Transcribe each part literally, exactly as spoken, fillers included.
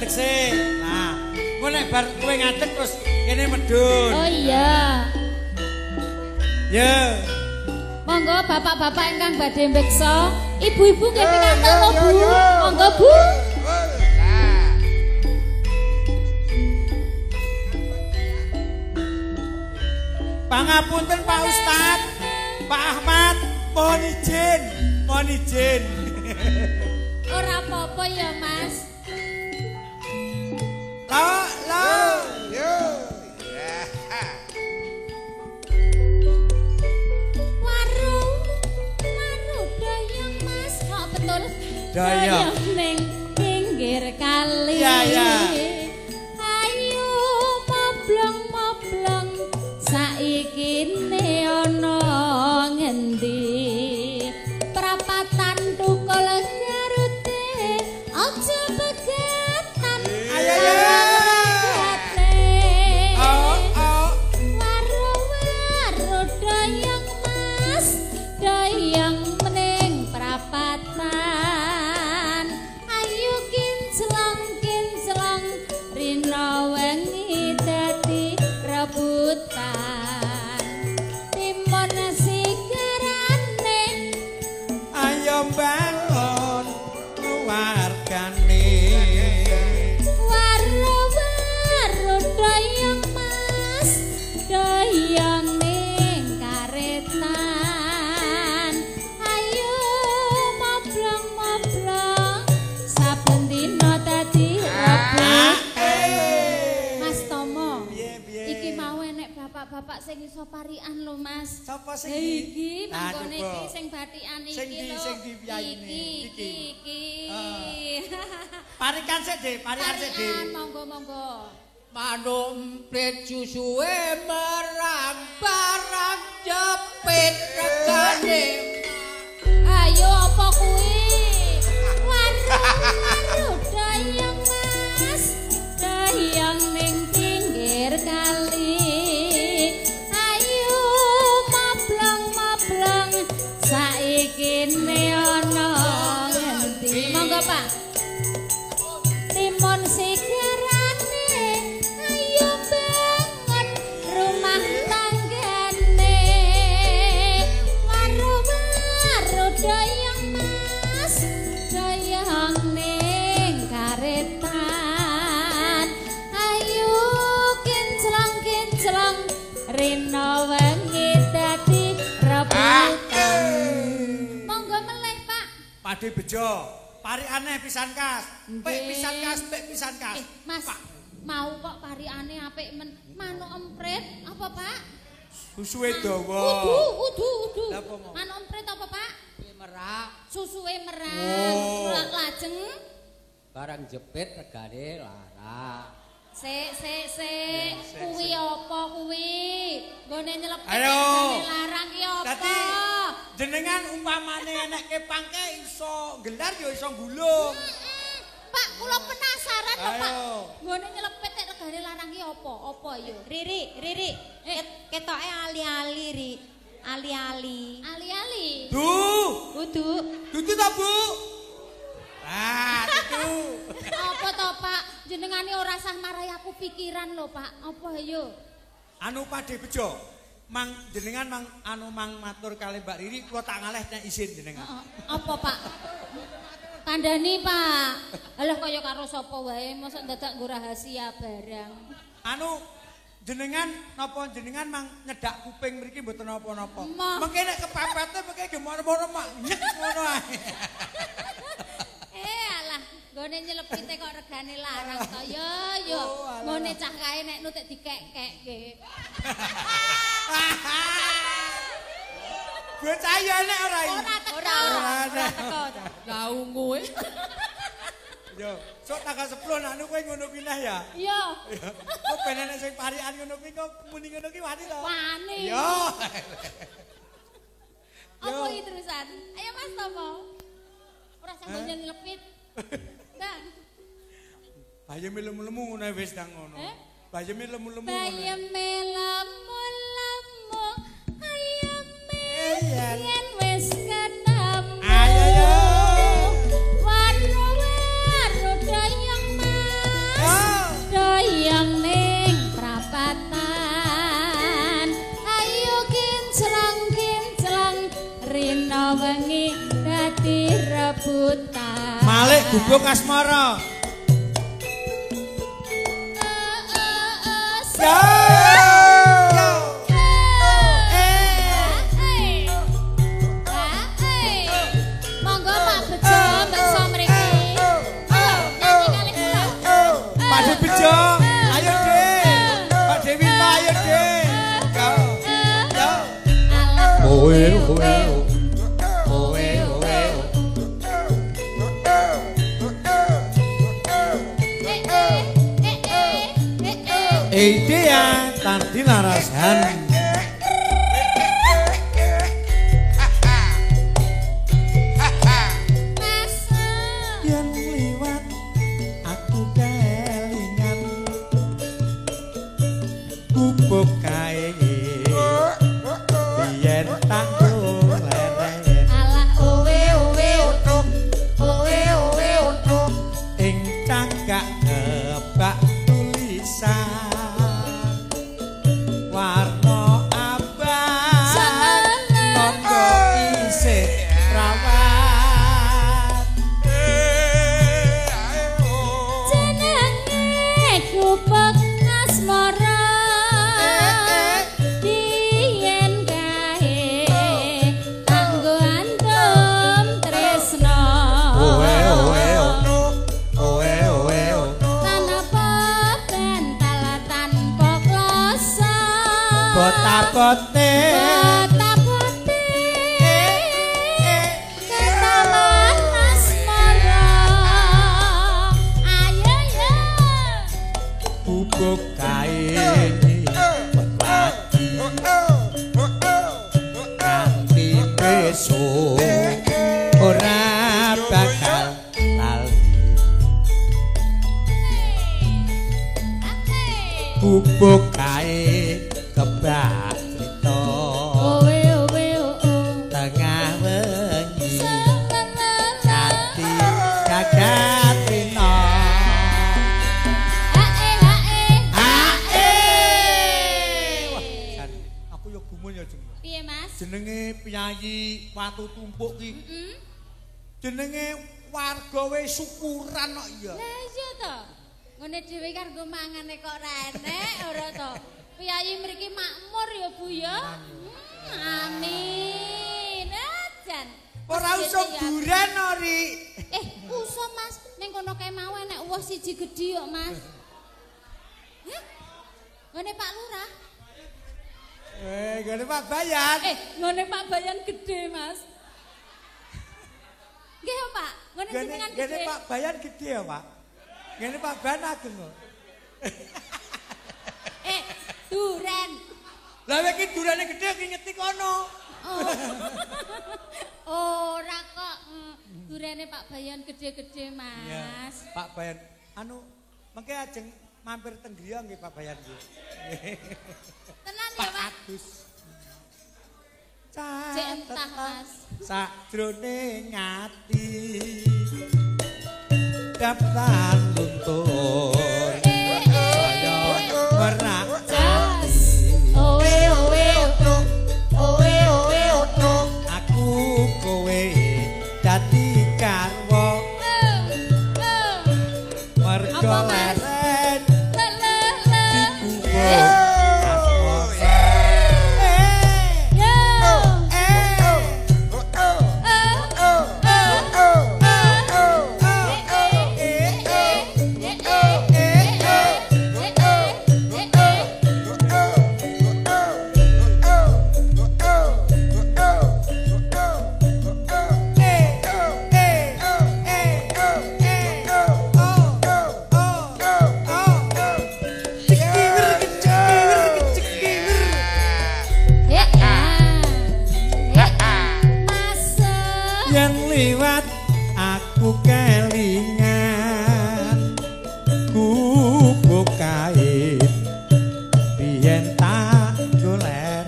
ngadeg sih. Nah, kowe nek bar kowe ngadeg terus kene medun. Oh iya. Ya. Monggo bapak-bapak ingkang badhe mbeksa, ibu-ibu nggih pikantuk to Bu. Monggo Bu. Pangapunten Pak Ustad, Pak Ahmad, mohon izin, mohon izin. Ora apa-apa ya Mas. Lo, lo. Yo. Warung, warung dayang Mas. Kok betul? Dayang. Ning pinggir kali. Ya, ya. Ayo moblong-moblong saiki ne ana ngendi? Prapatan tukul garute aja begatan. Ayo, ayo. Oh, oh. Waru-waru dayang Mas, dayang mening prapatan. Ayo kinclong kinclong rina wengi dadi rebutan. Timun sigarane Ayo bangun keluargane. waru-waru dayang Mas, dayang ning karetan. Ayo moblong-moblong saben dina dadi rebutan. Mas Tomo, Piye, piye? iki mau enek bapak-bapak sing iso parian lho Mas. Sapa sing Lah iki? iki Nah, mangkone coba. iki sing bathikan iki Sing di- lho. sing di piyayine. Iki Iki. iki. Parikan sik, Dik, parikan sik, Dik. Parian monggo-monggo. Manuk emprit susuwe merang-barang jepit regane. Ayo apa kuwi? Waru-waru dayang Mas, dayang ning pinggir kali. Ayo mablong-mablong saiki ne ana ngendi? Monggo Pak. Timun sigarane, ayo bangun rumah tanggane. Waru-waru dayang Mas, dayang ning karetan. Ayo kinclong-kinclong rina wengi dadi rebutan. Monggo melih Pak. Pade bejo, parikane pisan kas. Pek Nggih. pisan kas, pek pisan kas. Eh, Mas, mau kok parikane apik men. Manuk emprit apa, Pak? Susuwe dawa. Udu, udu, udu. Lah, apa mau? Manuk emprit apa, Pak? Merak Susuwe merang. Oh. La- Lajeng barang jepit regane larang. sik sik sik. Kuwi apa kuwi? Nggone nyelepet Ayo. regane larang ki apa? Dadi jenengan umpamane enek kepangke iso gelar ya iso gulung. Mm-mm. Pak, kula penasaran lho, Pak. Ayo. Nggone nyelepet nek regane larang ki apa? Apa yo? Riri, Riri, Eh. ketoke ali-ali, Ri. Ali-ali. Ali-ali. Du, Kudu. dudu ta, Bu? Ah, itu. Apa to, Pak? Jenengane ora sah marai aku pikiran lho, Pak. Apa yo? Anu pade bejo. Mang jenengan mang anu mang matur kali Mbak Riri kula tak ngaleh nek izin jenengan. Heeh. Apa, Pak? Kandhani, Pak. Alah kaya karo sapa wae, mosok dadak nggo rahasia barang. Anu jenengan napa jenengan mang nyedak kuping mriki mboten napa-napa. Mah. Mengke nek kepepete mengke gemono-mono mak nyek ngono ae. Eh alah, nggone nyelepite kok regane larang to. Yo yo. Oh, alah. Ngone cah kae nek nutik dikek-kekke. Bocah ya nek ora iki. Ora teko. Ora, ora, ora teko. Lah ungu e. Yo, sok tanggal sepuluh nak anu kowe ngono kuwi nah ya. Yo. Ya. Kok ben enek sing parikan ngono kuwi kok muni ngono ki wani to. Wani. Yo. Apa iki terusan? Ayo Mas Tomo. Ora sanggo nyelepit. Bang. Bayeme lemu-lemu ngono wis ndang ngono. Eh? Bayeme lemu-lemu ngono. Bayeme lamu-lamu ayame Yen. yen wis ketemu. Ayo yo. Waru-waru dayang Mas. wengi dadi rebutan. Malik gubuk asmara. Yo. Monggo Pak Bejo, Mbak Somriki. Nyanyi kali kula. Pak Bejo, ayo Dek. Pak Dewi Ma ayo Dek. Yo. Yo. Oe oe. Oe oe. Idea tanti larasan. Yang liwat aku kelingan gubuk kae biyen tak golek Alah owe owe utuk. Owe owe utuk. ing cagak gebak tulisan warna abang tangga isih rawat Jenenge gubuk asmara biyen kae kanggo antum tresna oe oe oe oe tanpa bental tanpa kloso bota-bote bota-bote ketaman asmara ayo ya gubuk kae pelati kanthi besok ora bakal lali gubuk kae kebak crita owe owe oh tengah wengi kanthi jagat rina hae hae ae wah jan aku yo gumun ya jeneng piye Mas jenenge Piyayi Watu Tumpuk ki heeh jenenge warga wis syukuran kok iya lah iya to ngene dhewe kan nggo mangane kok renek ora to Piyayi mriki makmur ya Bu ya Hmm, amin ajan ora usah duren ori eh usah Mas ning kono kae mau enek uwah siji gedhi kok Mas Hah? Ngene Pak Lurah eh gede Pak Bayan eh ngene Pak Bayan gede Mas nggih ya Pak ngene gede jenengan gede gede Pak Bayan gede ya Pak gede Pak Bayan ageng kok eh duren lah iki durane gede ki ngeti kono Oh, ora kok. Mm, durene Pak Bayan gede-gede, Mas. iya Pak Bayan anu mengke ajeng mampir teng griya nggih Pak Bayan nggih Tenan ya, Pak Pak. Agus Cek entah, Mas. Sakjroning ati daftar luntur saya merak Jas. Owe owe utuk. Owe owe utuk. aku kowe dadi karwa mergo Apa, Mas? leren Le le le. dikubur asmara Yo. yang liwat aku kelingan gubuk kain biyen tak golek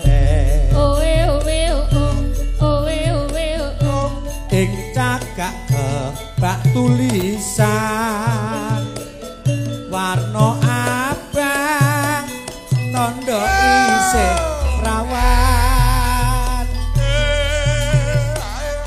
ing cagak kebak tulisan warna abang tondo isih rawan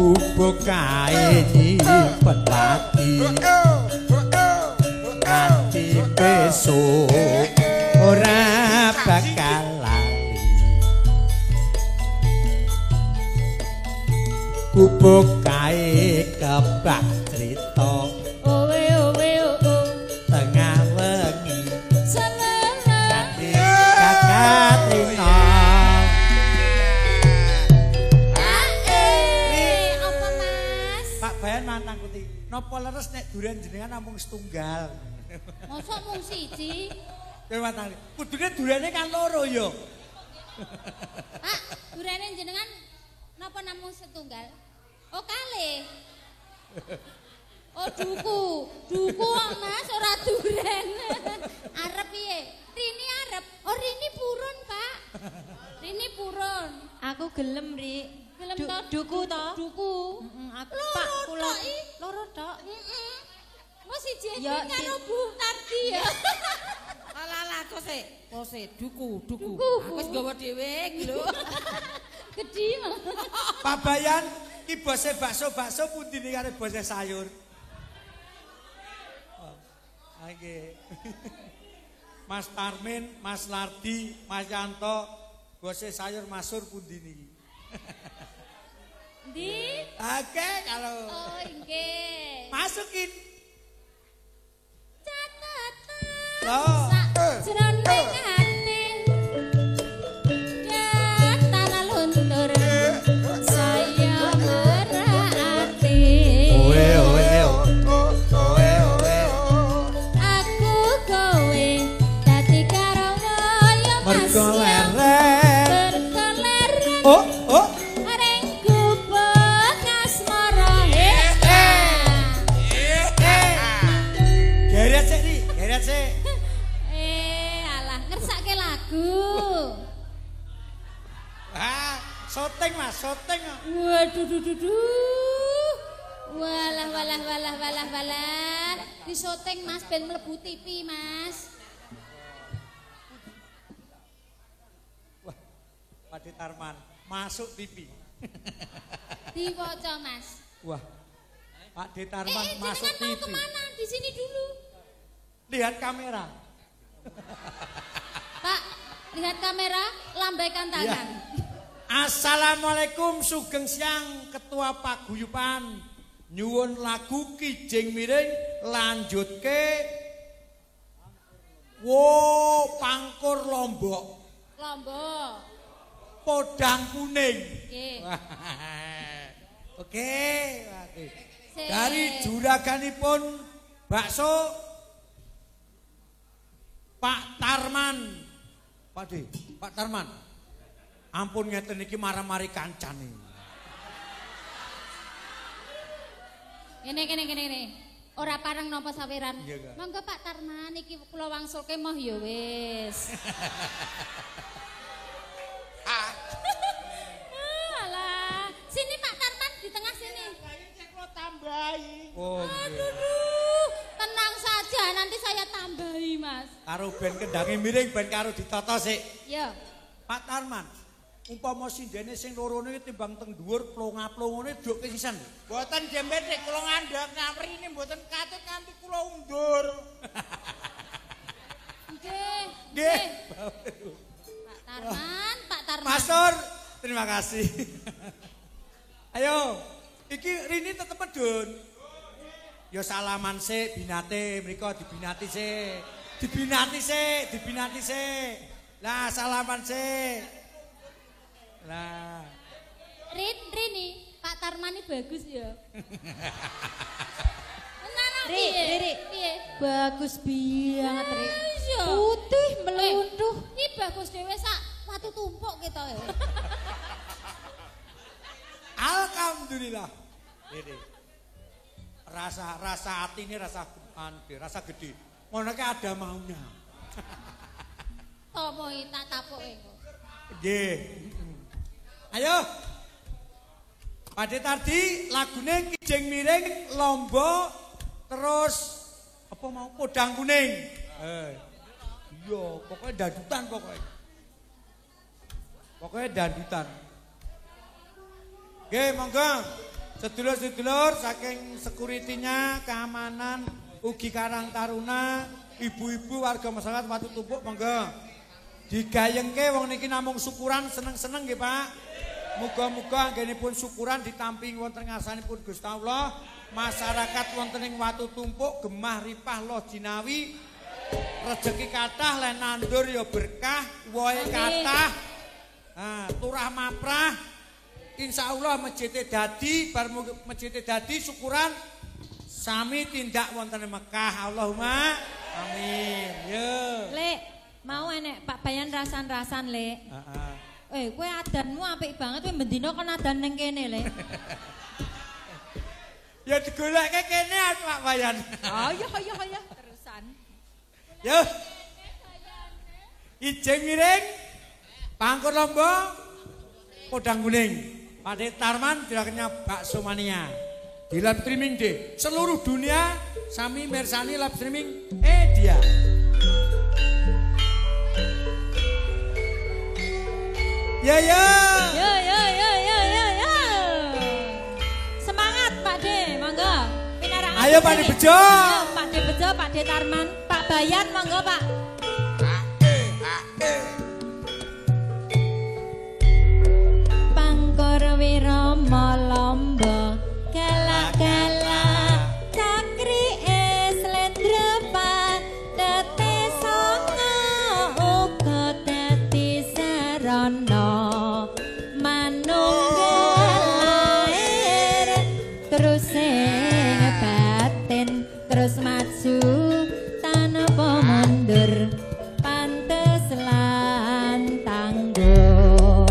bubuk kae nyimpen pati nganti besok ora bakal lali bubuk kae kebak crita owe owe oo tengah wengi selele nganti kakak trina apa Mas Pak Bayan mantang kuti napa leres nek duren jenengan namung setunggal mosok mung siji kowe mantang kudune durene kan loro ya Pak durene jenengan napa namung setunggal oh kalih oh duku duku kok Mas ora duren arep piye Rini arep oh Rini purun Pak Rini purun Aku gelem, Ri. gelem Du- to duku to? duku Heeh, aku loro Pak kula tok, I. loro tok. heeh mau siji Ya, karo si- Bu Tardi ya Alah kok sik, kok sik duku, duku. Duku. Aku wis gawa dhewe iki lho. gedhi mah Pak Bayan ki bose bakso-bakso pundi ning kare bose sayur oh, nggih Mas Tarmin, Mas Lardi, Mas Yanto bose sayur masur pundi niki Ndi oke kalau oh nggih masukin catatan loh jroning ati tanah luntur saya merati oe oe oe oe aku kowe dadi karo kaya mas mergo leren berkeleren oh oh areng gubuk asmara geret sik ri geret sik eh alah ngersake lagu ah syuting Mas syuting waduh duh duh duh walah walah walah walah walah di syuting Mas ben mlebu T V Mas Pak Tarman masuk T V diwaca Mas wah Pak eh, Tarman eh masuk jenengan mau T V kemana di sini dulu lihat kamera Pak lihat kamera lambaikan tangan Assalamualaikum sugeng siang Ketua Paguyuban nyuwun lagu Kijing Miring lanjutke wo pangkur Lombok Lombok podang kuning nggih oke oke Sik. dari juraganipun bakso Pak Tarman Pak De Pak Tarman ampun ngeten iki marah-mari kancane Kene kene kene kene. Ora pareng napa saweran. Iya, Kak. Monggo Pak Tarman iki kula wangsulke moh ya wis. Ah, alah. Sini Pak Tarman di tengah sini. oh Aduh, duh. Tenang saja nanti saya tambahi, Mas. karo ben kendange miring ben karo ditata sik Ya. Pak Tarman umpama sindene sing lorone timbang teng dhuwur plonga-plongone duke sisan Mboten jembet nek kula ngandhak nyamrine mboten katut nganti kula undur. Nggih. nggih Pak Tarman, Pak Tarman. Masur terima kasih ayo iki Rini tetep medun ya salaman sik binate mriko dibinati sik dibinati sik dibinati sik lah salaman sik lah Rin, Rini, Pak Tarman ini bagus ya. Tenan Ri, piye? Ri, Ri. Piye? Bagus banget, Ri. Iya. Putih Eh, melunduh. Ini bagus dhewe sak watu tumpuk kita ya. alhamdulillah ini rasa rasa hati ini rasa ande rasa gede ngono ki ada maunya Tomo tak tapuke kok. nggih ayo Pade Tardi lagune Kijing Miring Lombok terus apa mau podang kuning eh iya pokoknya dandutan pokoknya pokoknya dandutan nggih monggo Sedulur-sedulur saking security-nya, keamanan, ugi Karang Taruna, ibu-ibu warga masyarakat Watu Tumpuk monggo. Digayengke wong niki namung syukuran seneng-seneng nggih Pak. Muga-muga anggenipun syukuran ditampingi wonten ngarsanipun Gusti Allah. Masyarakat wonten ing Watu Tumpuk gemah ripah loh jinawi. Rezeki kathah lan nandur ya berkah, wohe kathah. Nah, turah maprah. Insyaallah masjid dadi bar masjid dadi syukuran sami tindak wonten Mekah. Allahumma amin. Yo. Lek, mau enek Pak Bayan rasan-rasan, Lek. Heeh. Eh, kowe adanmu apik banget kowe bendina kon adan ning kene, Lek. Ya digolekke kene Pak Bayan. Ayo ayo ayo terusan. Yo. Ijeng miring. Pangkur lomba. Podang kuning. Pakde Tarman dilakukannya bakso mania. Di live streaming deh. Seluruh dunia sami mersani live streaming. Eh dia. Ya ya. Ya ya ya ya ya ya. Semangat Pak De, monggo. Pinarak. Ayo Pak De Bejo. Ayo Pak De Bejo, Pak De Tarman, Pak Bayan monggo Pak. Pangkur wirama lomba galak-galak cakri slendrepan dadi sanga uga dadi sarana manunggal lair terus sing batin terus maju tanpa mundur pantes lan tangguh.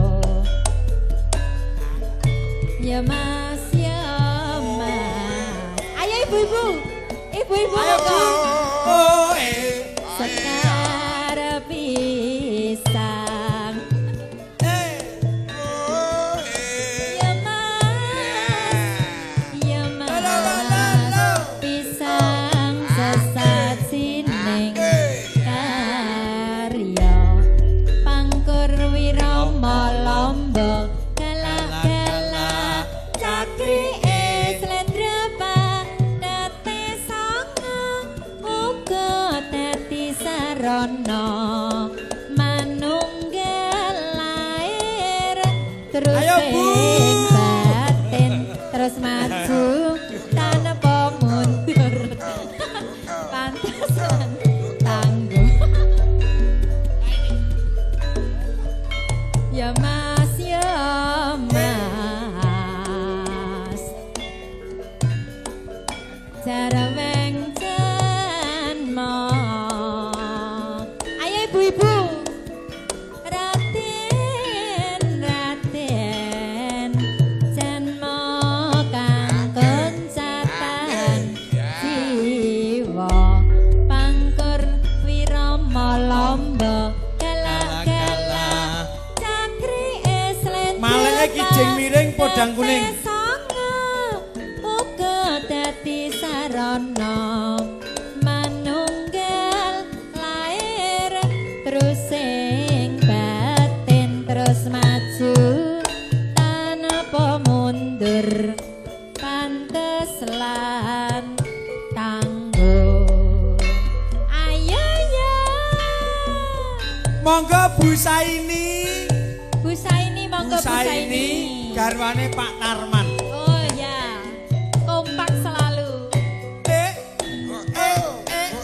Ya Mas, ya Mas. Ayo ibu-ibu, ibu-ibu. Ayo Bu. Oh eh. Sekar pisang. Eh. Ya Mas, ya Mas. Pisang sesajining karya pangkur wirama lomba. Rono manunggal lair terus sing batin terus maju tanpa mundur pantesan tangguh. Ya Mas ya Mas cara wengcan mo ibu Raden Raden janma kang kencatan jiwa pangkur wirama lomba galak-galak cakri slendra Maleke kijing miring podang kuning. uga dadi sarana terus sing batin terus maju tanpa mundur pantes lan tangguh. Ayo ya. Monggo Bu Saini. Bu Saini monggo Bu Saini. Garwane Pak Tarman. Oh ya. Kompak selalu. Eh. Eh. Eh.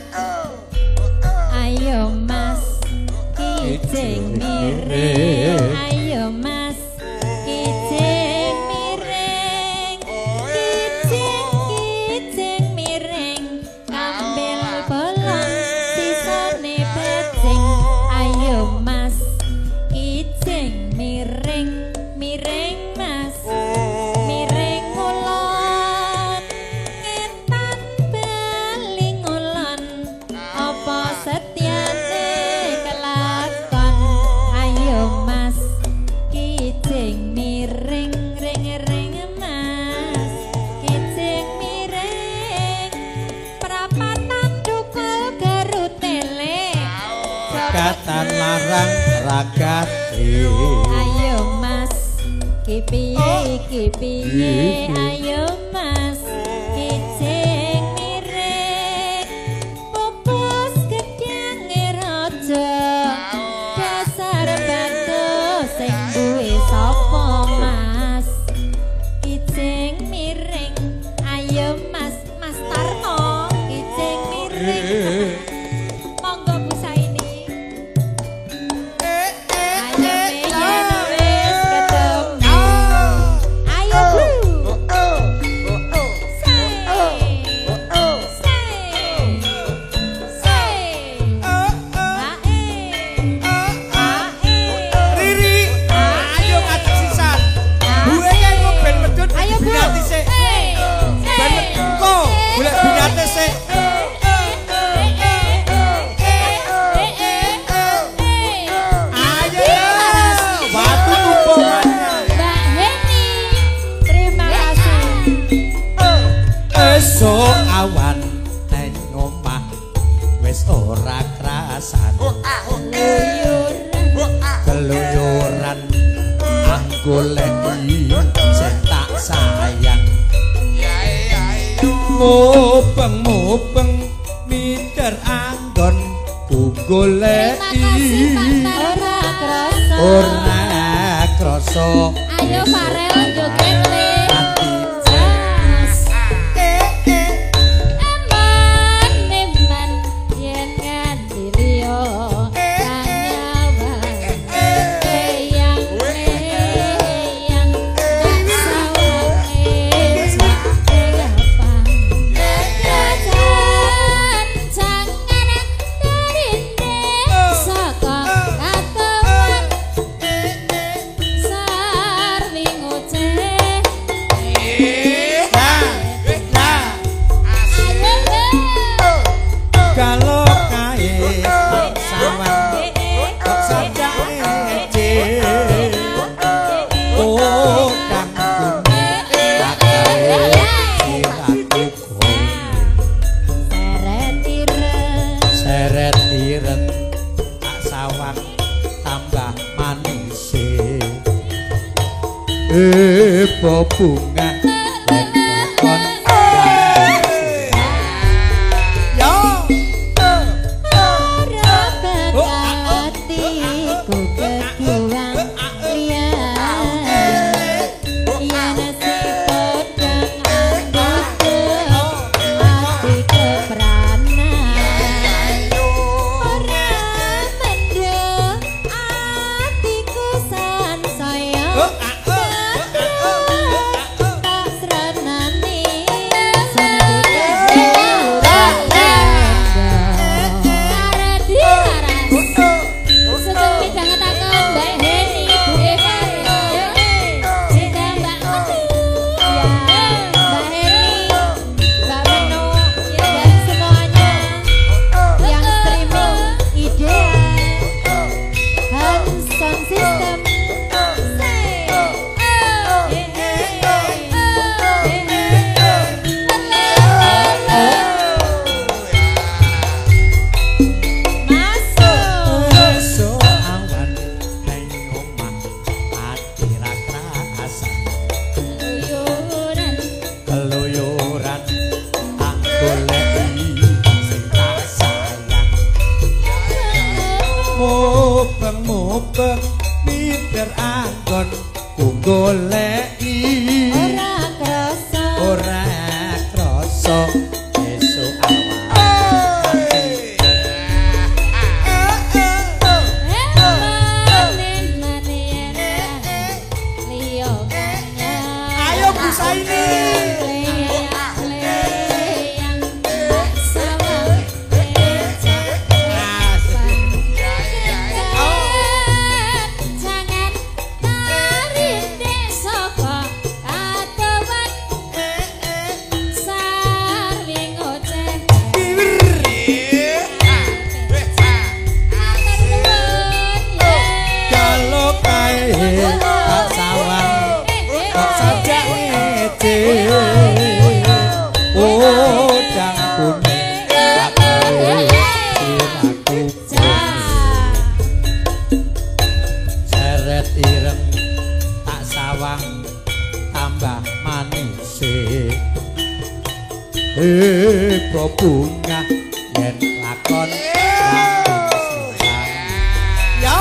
Ayo Mas. Kijing miring, ayo Mas. Kijing miring, kijing kijing miring. Ambil bolong sisane becing. Ayo Mas. Kijing miring, miring Mas. Miring ulon, ngetan beling ulon. Apa setiane Mas kijing miring ring ring Mas kijing miring prapatan dukul garutele Katan larang ragat. Ayo Mas iki piye iki piye ayo mas kicing mirip pupus gedhange raja dasar batu sing duwe sapa mas kicing miring ayo mas mas Tarno kicing miring monggo Bu Saini awan neng omah wis ora krasan keluyuran anggoleki sing tak sayang mubeng mubeng mider anggon ku goleki ora krasa ora krasa ayo Farel joget le bunga lekon yo ora bekatiku keduang liyan yen sipodang anggoku ati kepranan ora mendem atiku sansaya mider anggon ku goleki ora krasa ora krasa esuk awan ayo Bu Saini tak sawang kok sajake tambah manis eh bebungah yen lakon yo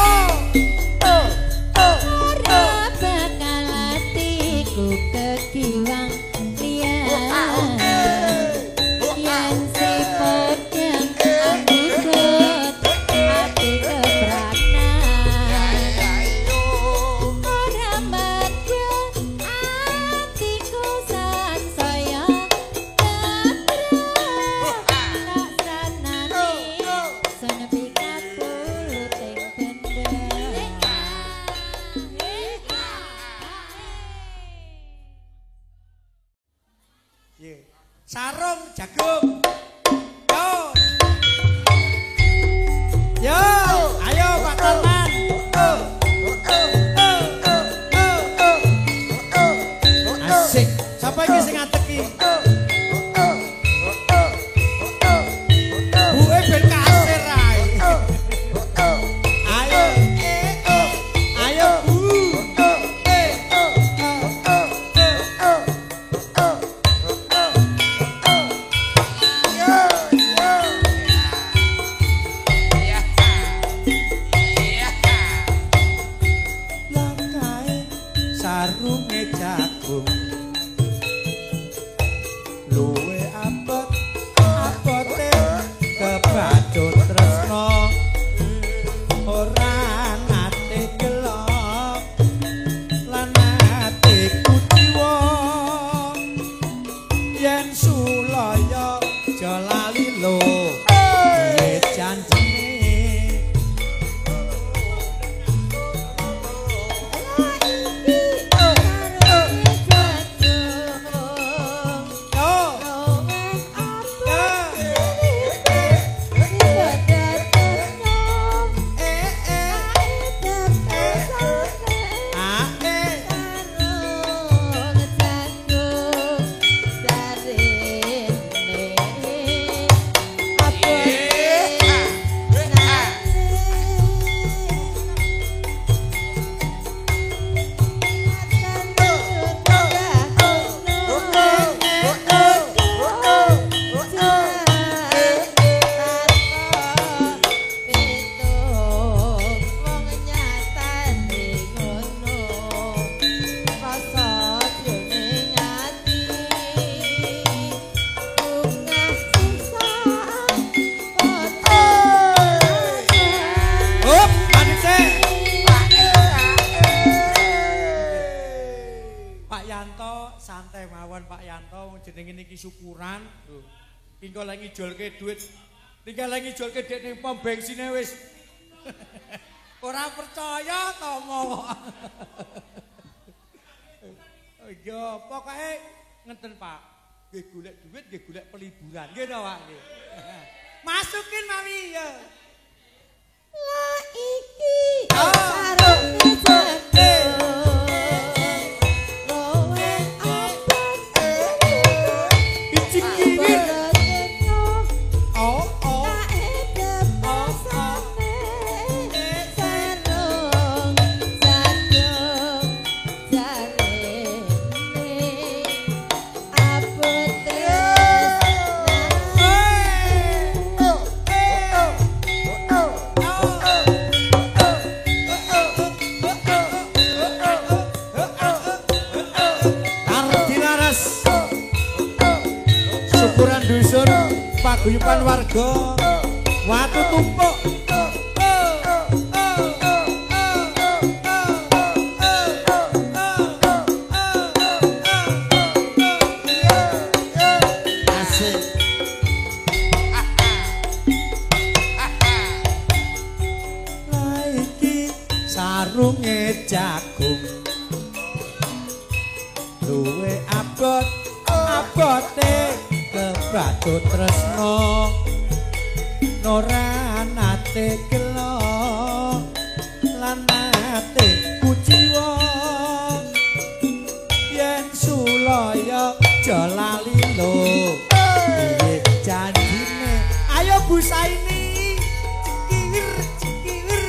ora bakal atiku kegiwang liyan yen siput yang ambikut ati kebranan ora madya atiku sansaya kebrang laksanane senepi kapuluting bendera. Ye. Sarung jagung. Yo. Yo, ayo Pak Tarman. Asik. Siapa iki sing ngateki? Buke ben kasir ae. Ayo. Ayo Bu. Langkae sarunge jagung luwe abot abote kebacut tresno ora nate gelok lan nate kuciwa yen sulaya jalali lo piye janjine santai mawon Pak Yanto jenenge niki syukuran lho. Engko lek ngijolke duit tinggal lek ngijolke dek ning pom bensine wis ora percaya to mau. Yo pokoke ngenten Pak. Nggih golek duit nggih golek peliburan nggih to Pak nggih. Masukin mami ya. Lah iki sarunge jagung dusun paguyuban warga watu tumpuk asik iki sarunge jagung luwe abot abote kebacut tresno ora nate gelo lan nate kuciwa yen sulaya jalali lo piye janjine ayo Bu Saini cikir cikir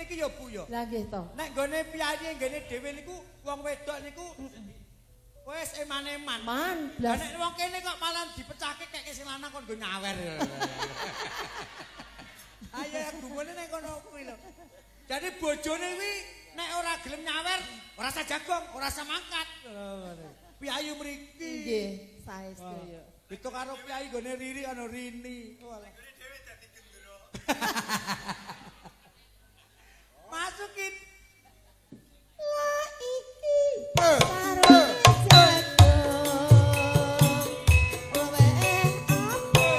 iki ya Bu ya. Lah nggih to. Nek nggone piyayi nggone dhewe niku wong wedok niku wis eman-eman. Man, Lah blas. nek wong kene kok malah dipecahke kek sing lanang kon nggo nyawer. Ayo gumune nek kono kuwi lho. Jadi bojone kuwi nek ora gelem nyawer, ora usah jagong, ora usah mangkat. Piyayi mriki. Nggih, saestu ya. Itu karo piyayi gone Riri ana Rini. Walah. Masukin. Lah iki karo jago. Owe apa?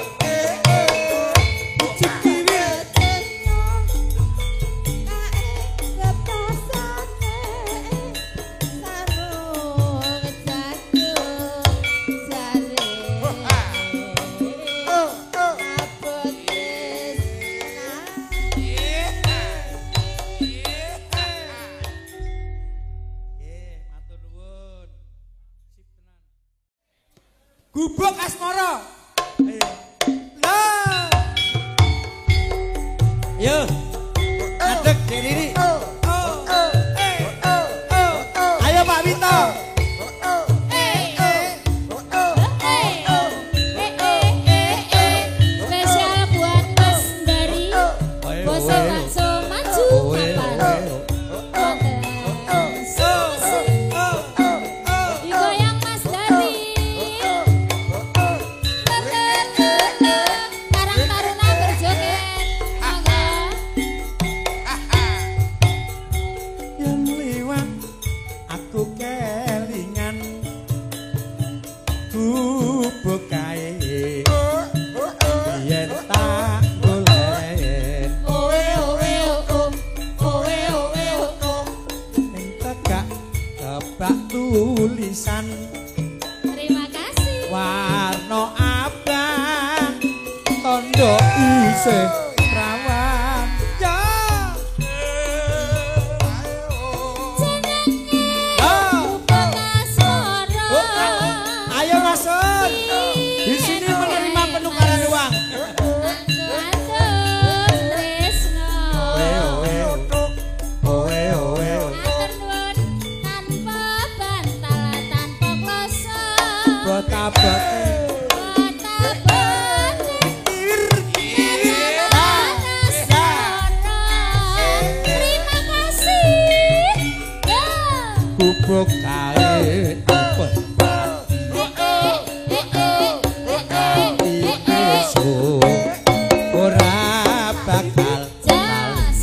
Cikiwi tenyo. Kae kepasane. Sarung jago. Jare. Abot tresna. Nggih, matur nuwun. Sip tenan. Gubuk asmara. Ayo. Lah. Yo. Adek Riri. Oh, oh, eh, oh, oh. Ayo Pak Wito. Spesial buat Mas Dari. Bose bakso maju kapan? Digoyang Mas Dari. Karang Taruna berjoget. Monggo. Yang liwat aku kelingan gubuk kae yen tak golek Owe owe oh. Owe owe oh. ning tegak kebak tulisan Terima kasih. warna abang tondo isih rawan ya Gubuk asmara. ayo masuk di sini menerima penukaran uang Atur tresno. owe owe Atur nuwun tanpa bantal tanpa kloso. bota-bote Terima kasih. Ya. gubuk kae open iso ora bakal Jas.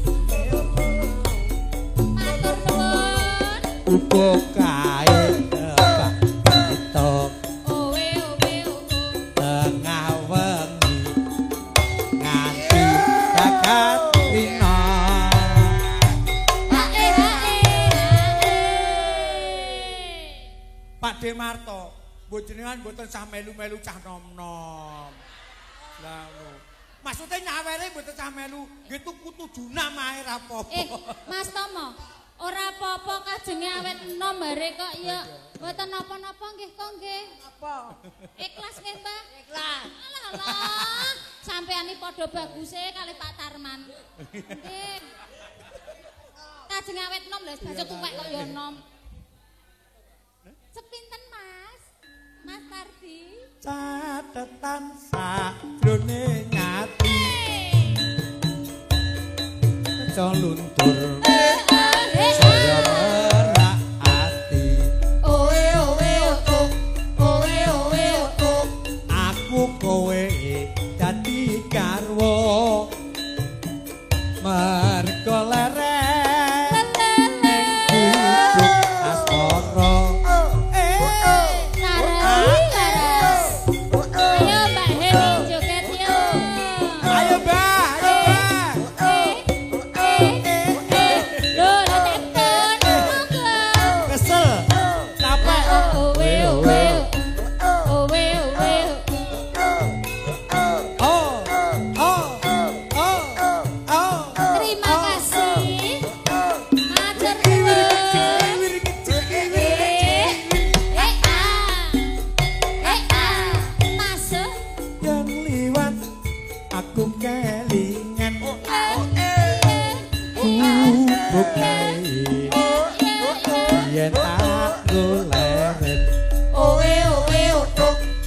Matur nuwun. gubuk kae kebak kita Owe owe owe. tengah wengi nganti jagat rina Hae hae hae. Pak Demarto bojenengan mboten sah melu-melu cah nom-nom lah ngono maksudnya nyawere mboten cah melu nggih tuku tujunan ae ra apa-apa Eh, Mas Tomo, ora apa-apa kajenge awet enom bare kok ya. Mboten napa-napa nggih kok nggih. Apa? Ikhlas nggih, Mbak? Ikhlas. Alah alah, sampeyan padha baguse kali Pak Tarman. Nggih. Kajenge awet enom lho, baju tuwek kok ya enom. Sepinten, Mas? Mas Tardi. catetan sajrone nyati aja luntur saya merak ati Owe owe oh. Owe owe oh. aku kowe dadi garwa